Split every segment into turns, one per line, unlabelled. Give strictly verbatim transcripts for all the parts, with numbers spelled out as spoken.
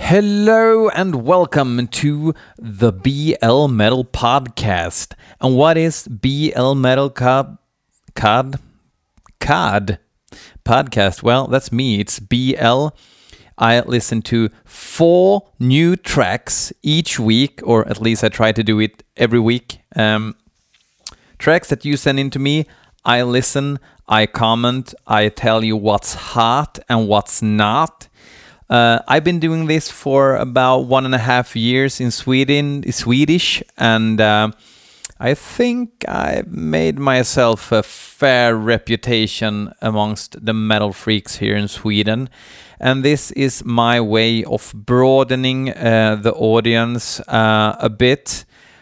Hello and welcome to the B L Metal Podcast. And what is B L Metal Cod? Cod? Cod? Podcast? Well, that's me. It's B L. I listen to four new tracks each week, or at least I try to do it every week. Um, tracks that you send in to me, I listen, I comment, I tell you what's hot and what's not. Uh, I've been doing this for about one and a half years in Sweden, Swedish, and uh, I think I've made myself a fair reputation amongst the metal freaks here in Sweden. And this is my way of broadening uh, the audience uh, a bit.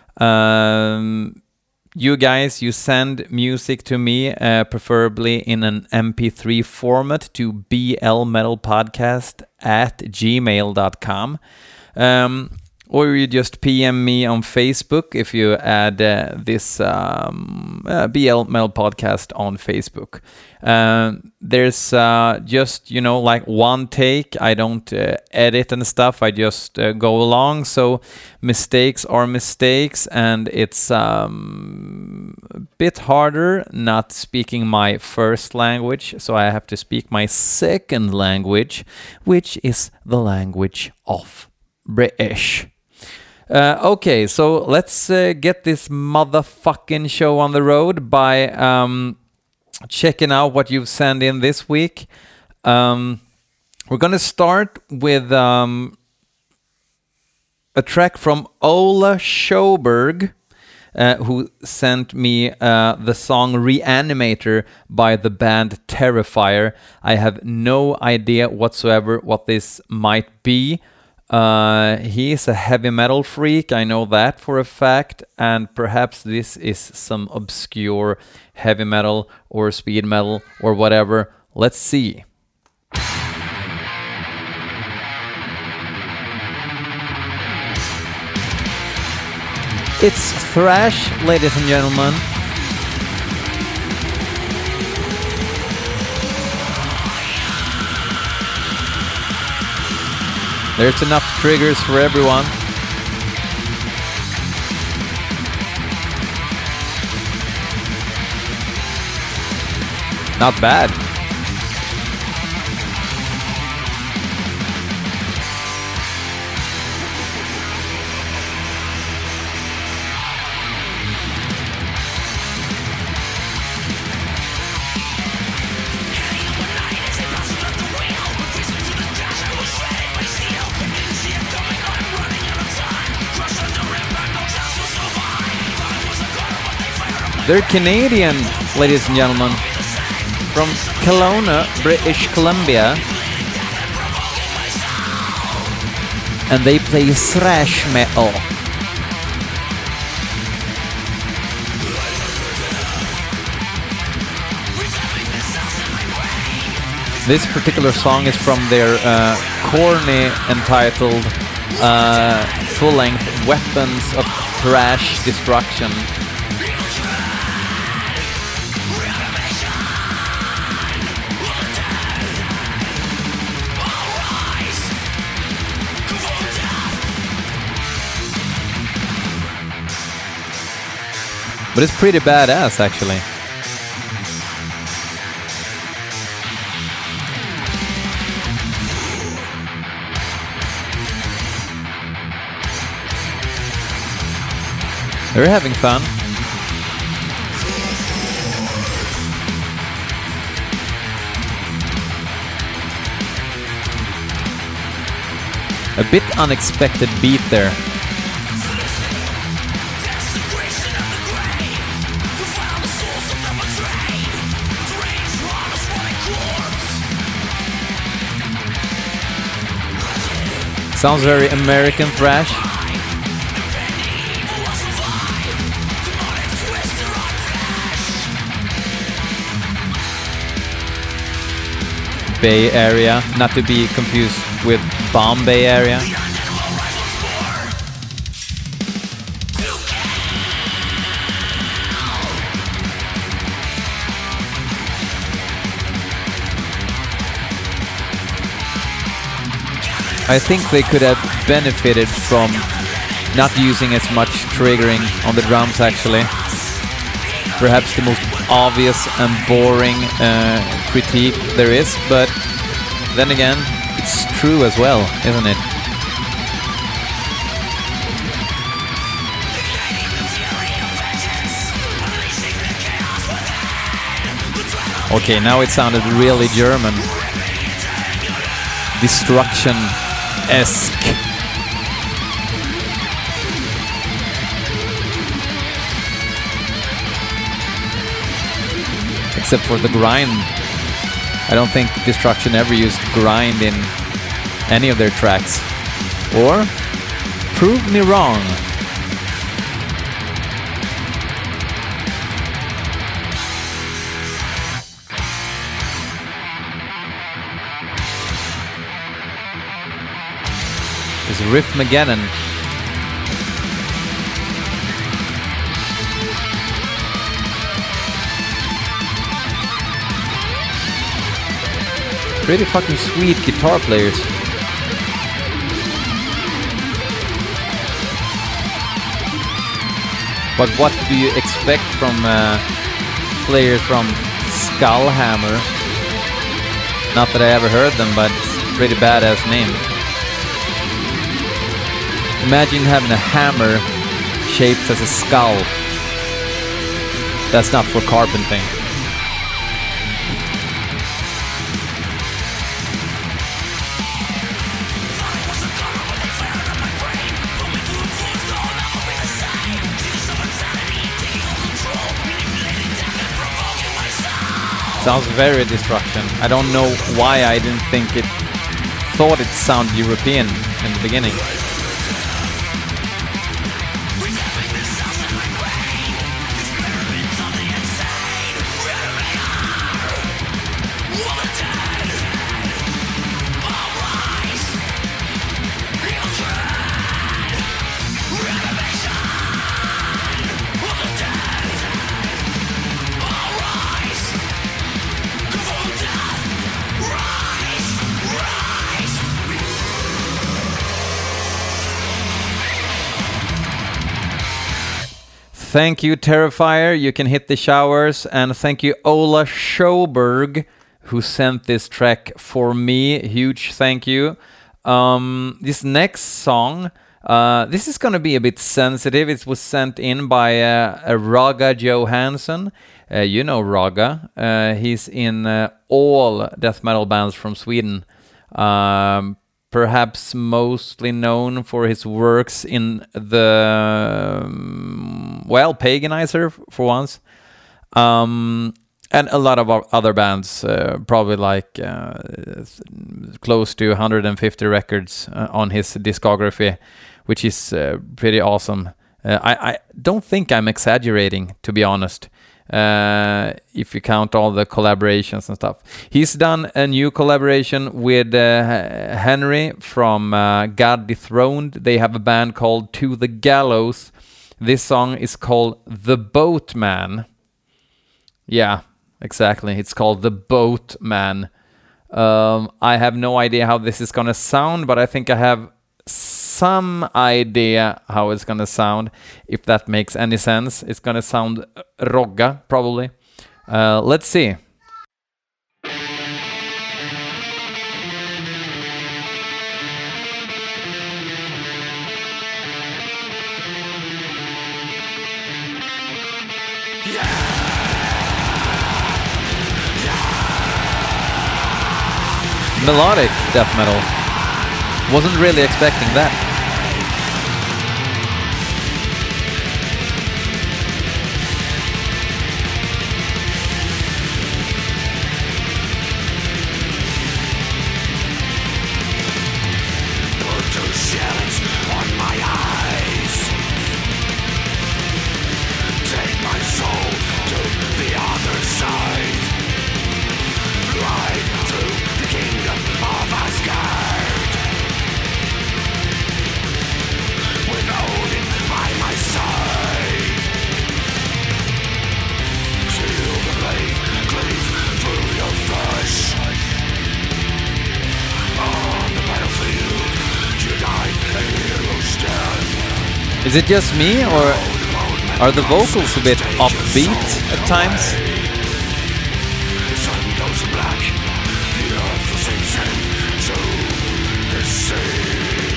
Um, You guys, you send music to me, uh, preferably in an M P three format, to blmetalpodcast at gmail dot com. Um, or you just P M me on Facebook if you add uh, this um, uh, B L Metal Podcast on Facebook. Uh, there's uh, just, you know, like one take. I don't uh, edit and stuff. I just uh, go along. So mistakes are mistakes, and it's um, a bit harder not speaking my first language. So I have to speak my second language, which is the language of British. Uh, okay, so let's uh, get this motherfucking show on the road by um, checking out what you've sent in this week. Um, we're going to start with um, a track from Ola Sjöberg, uh, who sent me uh, the song Reanimator by the band Terrifier. I have no idea whatsoever what this might be. Uh, he is a heavy metal freak, I know that for a fact, and perhaps this is some obscure heavy metal or speed metal or whatever. Let's see. It's thrash, ladies and gentlemen. There's enough triggers for everyone. Not bad. They're Canadian, ladies and gentlemen, from Kelowna, British Columbia, and they play thrash metal. This particular song is from their uh, corny entitled uh, full-length Weapons of Thrash Destruction. But it's pretty badass, actually. They're having fun. A bit unexpected beat there. Sounds very American thrash. Bay Area, not to be confused with Bombay Area. I think they could have benefited from not using as much triggering on the drums, actually. Perhaps the most obvious and boring uh, critique there is, but then again, it's true as well, isn't it? Okay, now it sounded really German. Destruction-esque. Except for the grind. I don't think Destruction ever used grind in any of their tracks. Or, prove me wrong. It's Riffmageddon. Pretty fucking sweet guitar players. But what do you expect from uh, players from Skullhammer? Not that I ever heard them, but it's a pretty badass name. Imagine having a hammer shaped as a skull. That's not for carpenting. Sounds very Destruction. I don't know why I didn't think it... thought it sounded European in the beginning. Thank you, Terrifier. You can hit the showers. And thank you, Ola Schoberg, who sent this track for me. Huge thank you. Um, this next song, uh, this is going to be a bit sensitive. It was sent in by uh, a Raga Johansson. Uh, you know Raga. Uh, he's in uh, all death metal bands from Sweden. Um, perhaps mostly known for his works in the, um, well, Paganizer for once. Um, and a lot of other bands, uh, probably like uh, close to one hundred fifty records uh, on his discography, which is uh, pretty awesome. Uh, I, I don't think I'm exaggerating, to be honest. Uh, if you count all the collaborations and stuff. He's done a new collaboration with uh, Henry from uh, God Dethroned. They have a band called To the Gallows. This song is called The Boatman. Yeah, exactly. It's called The Boatman. Um, I have no idea how this is gonna sound, but I think I have some idea how it's gonna sound, if that makes any sense. It's gonna sound rogga, probably. Uh, let's see. Melodic death metal. Wasn't really expecting that.
Put two shells on my eyes. Take my soul to the other side. Ride to the kingdom of Asgard.
Is it just me, or are the vocals a bit offbeat at times?
The sun goes black, the earth sinks into the sea.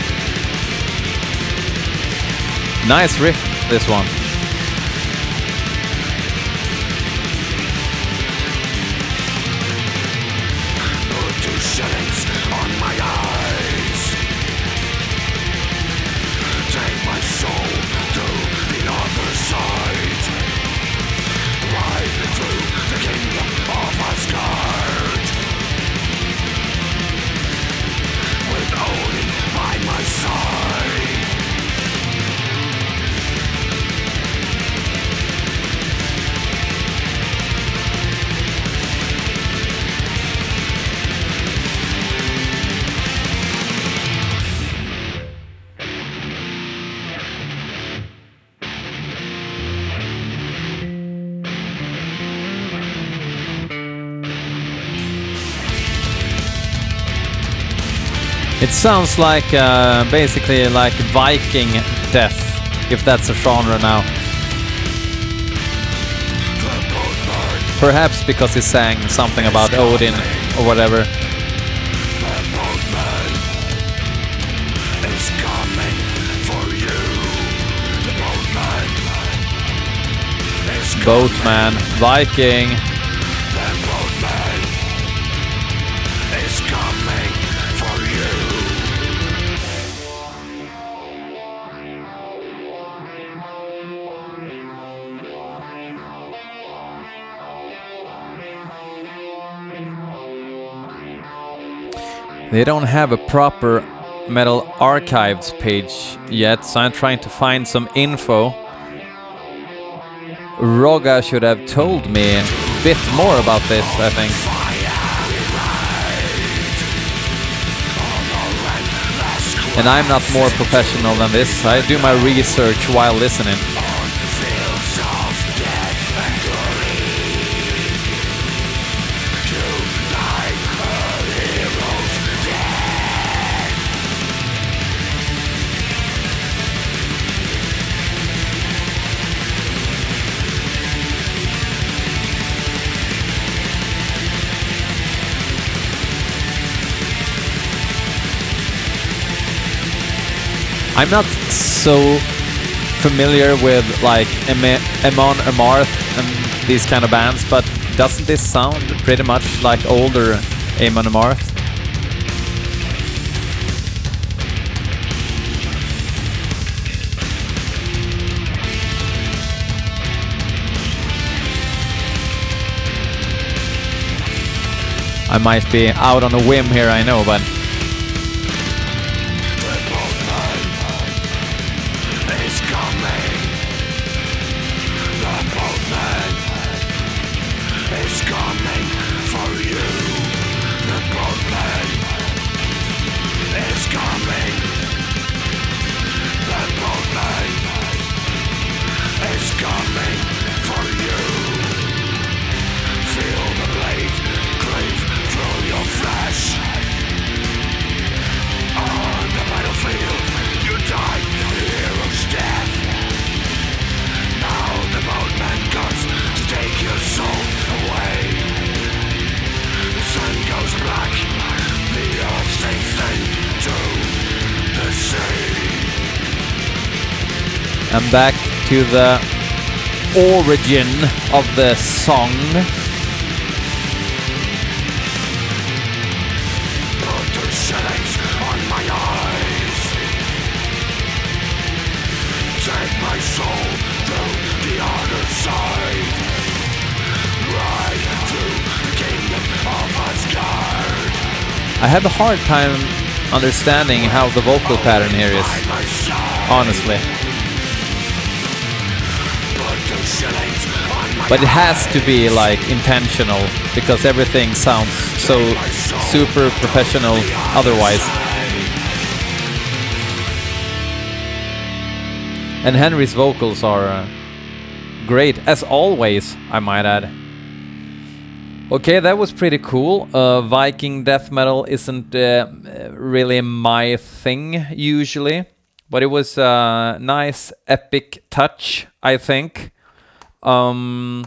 Nice riff, this one.
Put two shillings on my eyes. Take my soul to the other side. Ride through the kingdom of Asgard. With Odin by my side.
It sounds like uh, basically like Viking death, if that's a genre now. Perhaps because he sang something about Odin or whatever. Boatman, Viking. They don't have a proper Metal Archives page yet, so I'm trying to find some info. Roga should have told me a bit more about this, I think. And I'm not more professional than this. I do my research while listening. I'm not so familiar with like Am- Amon Amarth and these kind of bands, but doesn't this sound pretty much like older Amon Amarth? I might be out on a whim here, I know, but I'm back to the origin of the song.
Put two shillings on my eyes. Take my soul to the other side. Ride through the kingdom of Asgard.
I have a hard time understanding how the vocal pattern here is, honestly. But it has to be like intentional, because everything sounds so super professional otherwise. And Henry's vocals are uh, great, as always, I might add. Okay, that was pretty cool. Uh, Viking death metal isn't uh, really my thing usually, but it was a nice epic touch, I think. Um,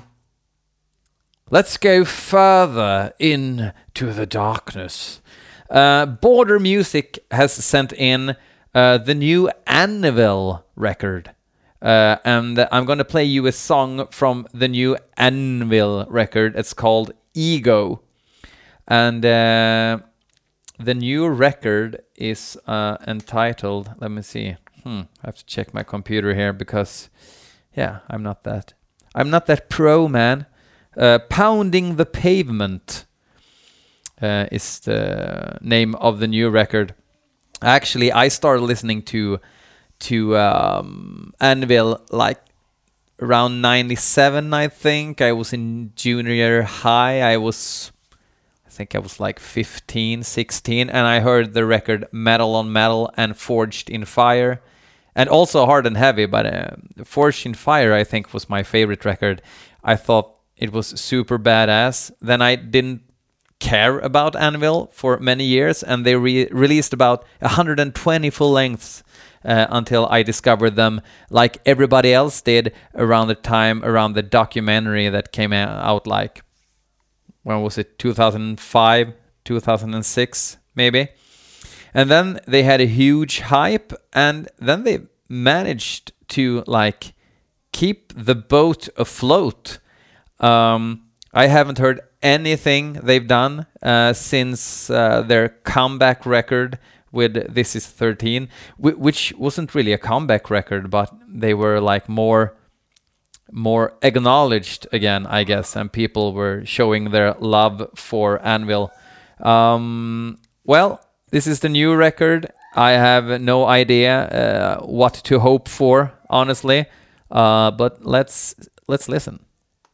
let's go further into the darkness. Uh, Border Music has sent in uh, the new Anvil record. Uh, and I'm going to play you a song from the new Anvil record. It's called Ego. And uh, the new record is uh, entitled, let me see. Hmm, I have to check my computer here because, yeah, I'm not that. I'm not that pro, man. Uh, Pounding the Pavement uh, is the name of the new record. Actually, I started listening to to um, Anvil like around ninety-seven, I think. I was in junior high. I was, I think I was like fifteen, sixteen, and I heard the record Metal on Metal and Forged in Fire, and also Hard and Heavy, but uh, Forged in Fire, I think, was my favorite record. I thought it was super badass. Then I didn't care about Anvil for many years, and they re- released about one hundred twenty full lengths uh, until I discovered them, like everybody else did around the time around the documentary that came out, like, when was it, two thousand five, two thousand six, maybe. And then they had a huge hype, and then they managed to like keep the boat afloat. Um, I haven't heard anything they've done uh, since uh, their comeback record with This Is thirteen, w- which wasn't really a comeback record, but they were like more more acknowledged again, I guess, and people were showing their love for Anvil. Um, well, this is the new record. I have no idea uh, what to hope for, honestly, uh, but let's let's listen.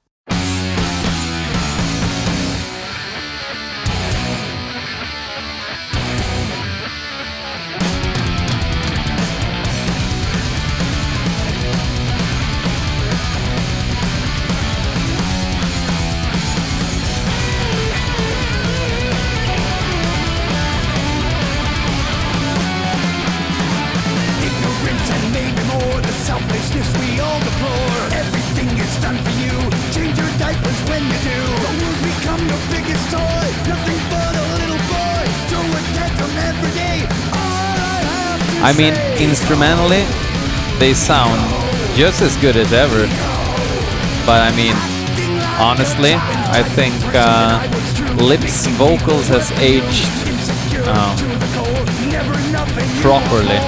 I mean, instrumentally, they sound just as good as ever. But I mean, honestly, I think uh, Lips' vocals has aged um, properly.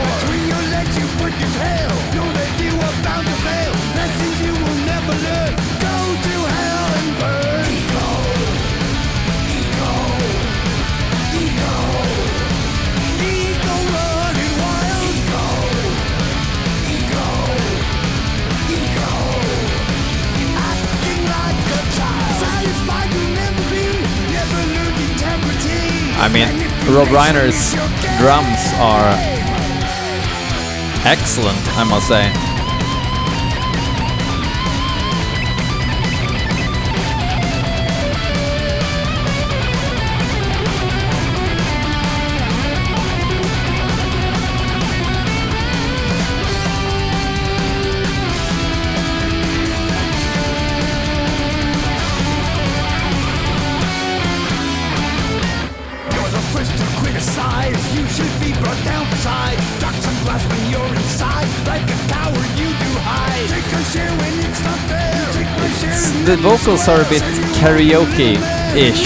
I mean, Rob Reiner's drums are excellent, I must say. The vocals are a bit karaoke-ish.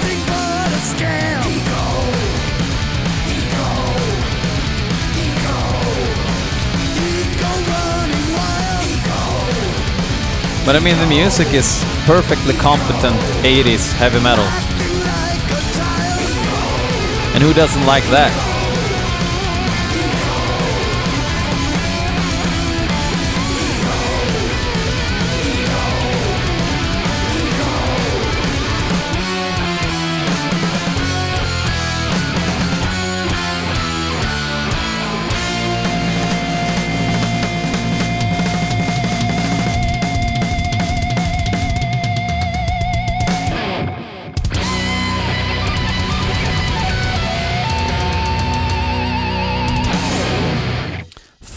But I mean, the music is perfectly competent eighties heavy metal. And who doesn't like that?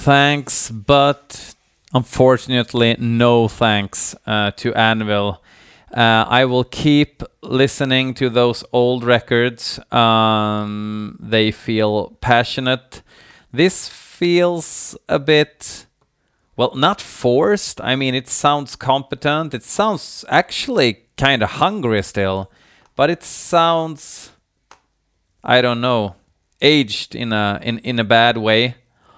thanks, but unfortunately, no thanks uh, to Anvil. Uh, I will keep listening to those old records. Um, they feel passionate. This feels a bit, well, not forced. I mean, it sounds competent. It sounds actually kind of hungry still, but it sounds, I don't know, aged in a in, in a bad way.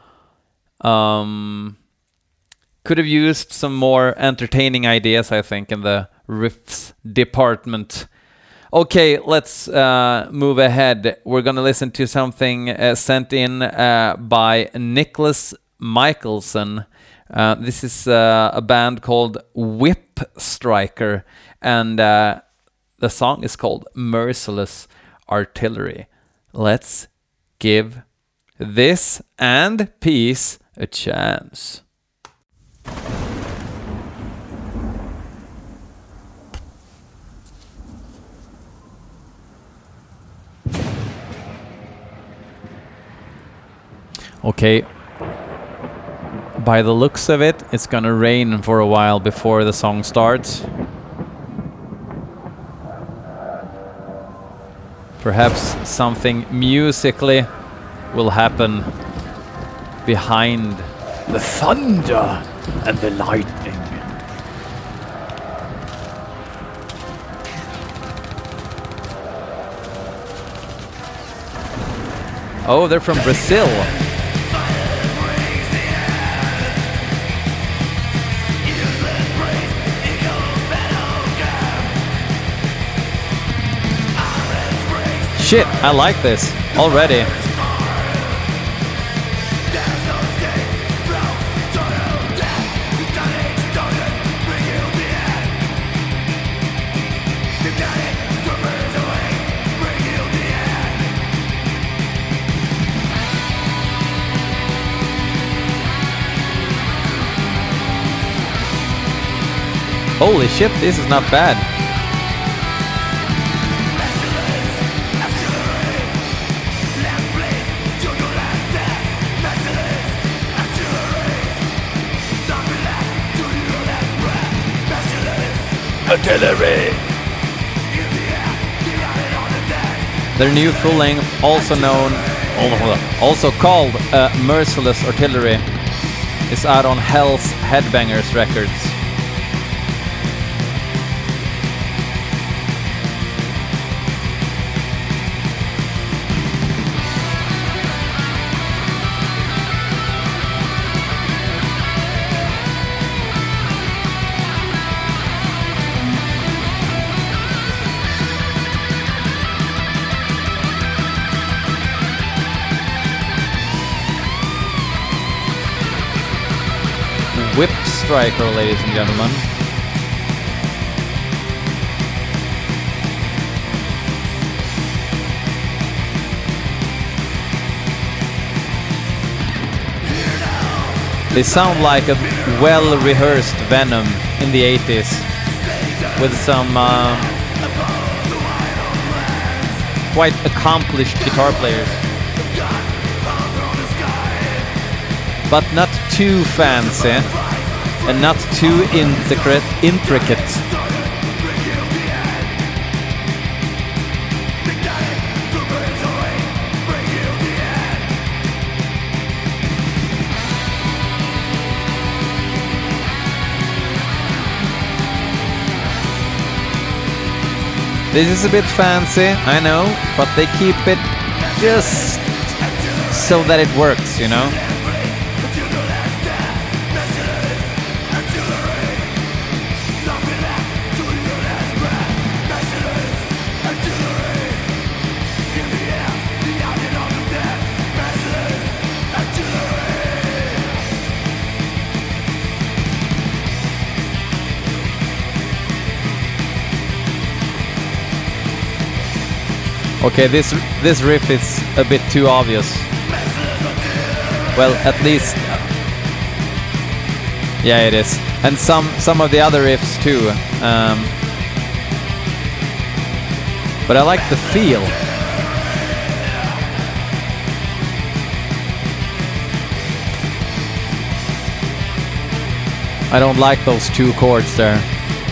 Um, could have used some more entertaining ideas, I think, in the riffs department. Okay, let's uh, move ahead. We're gonna listen to something uh, sent in uh, by Nicholas Michelson. Uh, this is uh, a band called Whip Striker, and uh, the song is called Merciless Artillery. Let's give this and peace a chance. Okay, by the looks of it, it's gonna rain for a while before the song starts. Perhaps something musically will happen behind
The thunder and the lightning.
Oh, they're from Brazil. Shit, I like this already. Holy shit, this is not bad.
Artillery.
Their new full length, also known, also called uh, Merciless Artillery, is out on Hell's Headbangers Records. Whip Striker, ladies and gentlemen. They sound like a well-rehearsed Venom in the eighties, with some uh, quite accomplished guitar players, but not too fancy and not too intricate. intricate. This is a bit fancy, I know, but they keep it just so that it works, you know? Okay, this this riff is a bit too obvious. Well, at least, yeah, it is, and some some of the other riffs too. Um, but I like the feel. I don't like those two chords there.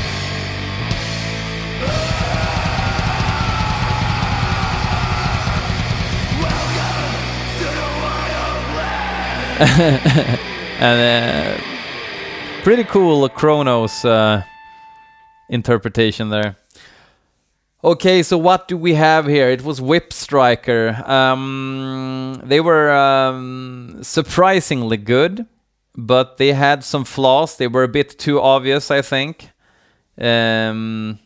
And uh, pretty cool Kronos uh, interpretation there. Okay, so what do we have here? It was Whip Striker. Um, they were um, surprisingly good, but they had some flaws. They were a bit too obvious, I think. Um,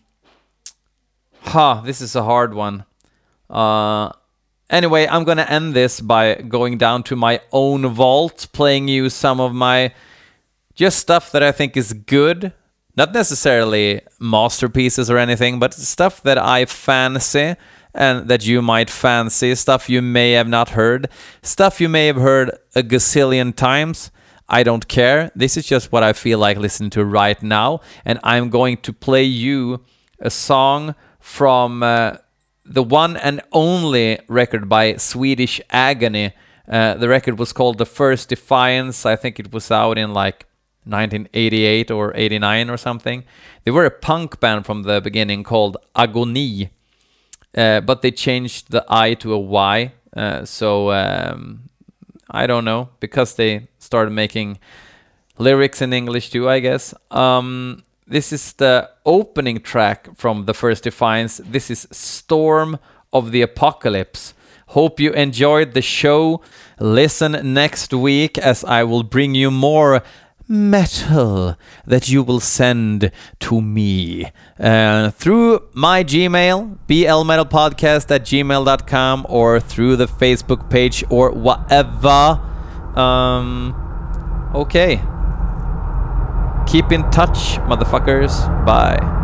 ha, this is a hard one. Uh, Anyway, I'm gonna end this by going down to my own vault, playing you some of my just stuff that I think is good. Not necessarily masterpieces or anything, but stuff that I fancy and that you might fancy, stuff you may have not heard, stuff you may have heard a gazillion times. I don't care. This is just what I feel like listening to right now, and I'm going to play you a song from... Uh, the one and only record by Swedish Agony. Uh, the record was called The First Defiance. I think it was out in like nineteen eighty-eight or eighty-nine or something. They were a punk band from the beginning called Agony. Uh, but they changed the I to a Y. Uh, so um, I don't know. Because they started making lyrics in English too, I guess. Um... This is the opening track from The First Defiance. This is Storm of the Apocalypse. Hope you enjoyed the show. Listen next week as I will bring you more metal that you will send to me uh, through my Gmail, blmetalpodcast at gmail dot com, or through the Facebook page or whatever. Um, okay. Keep in touch, motherfuckers. Bye.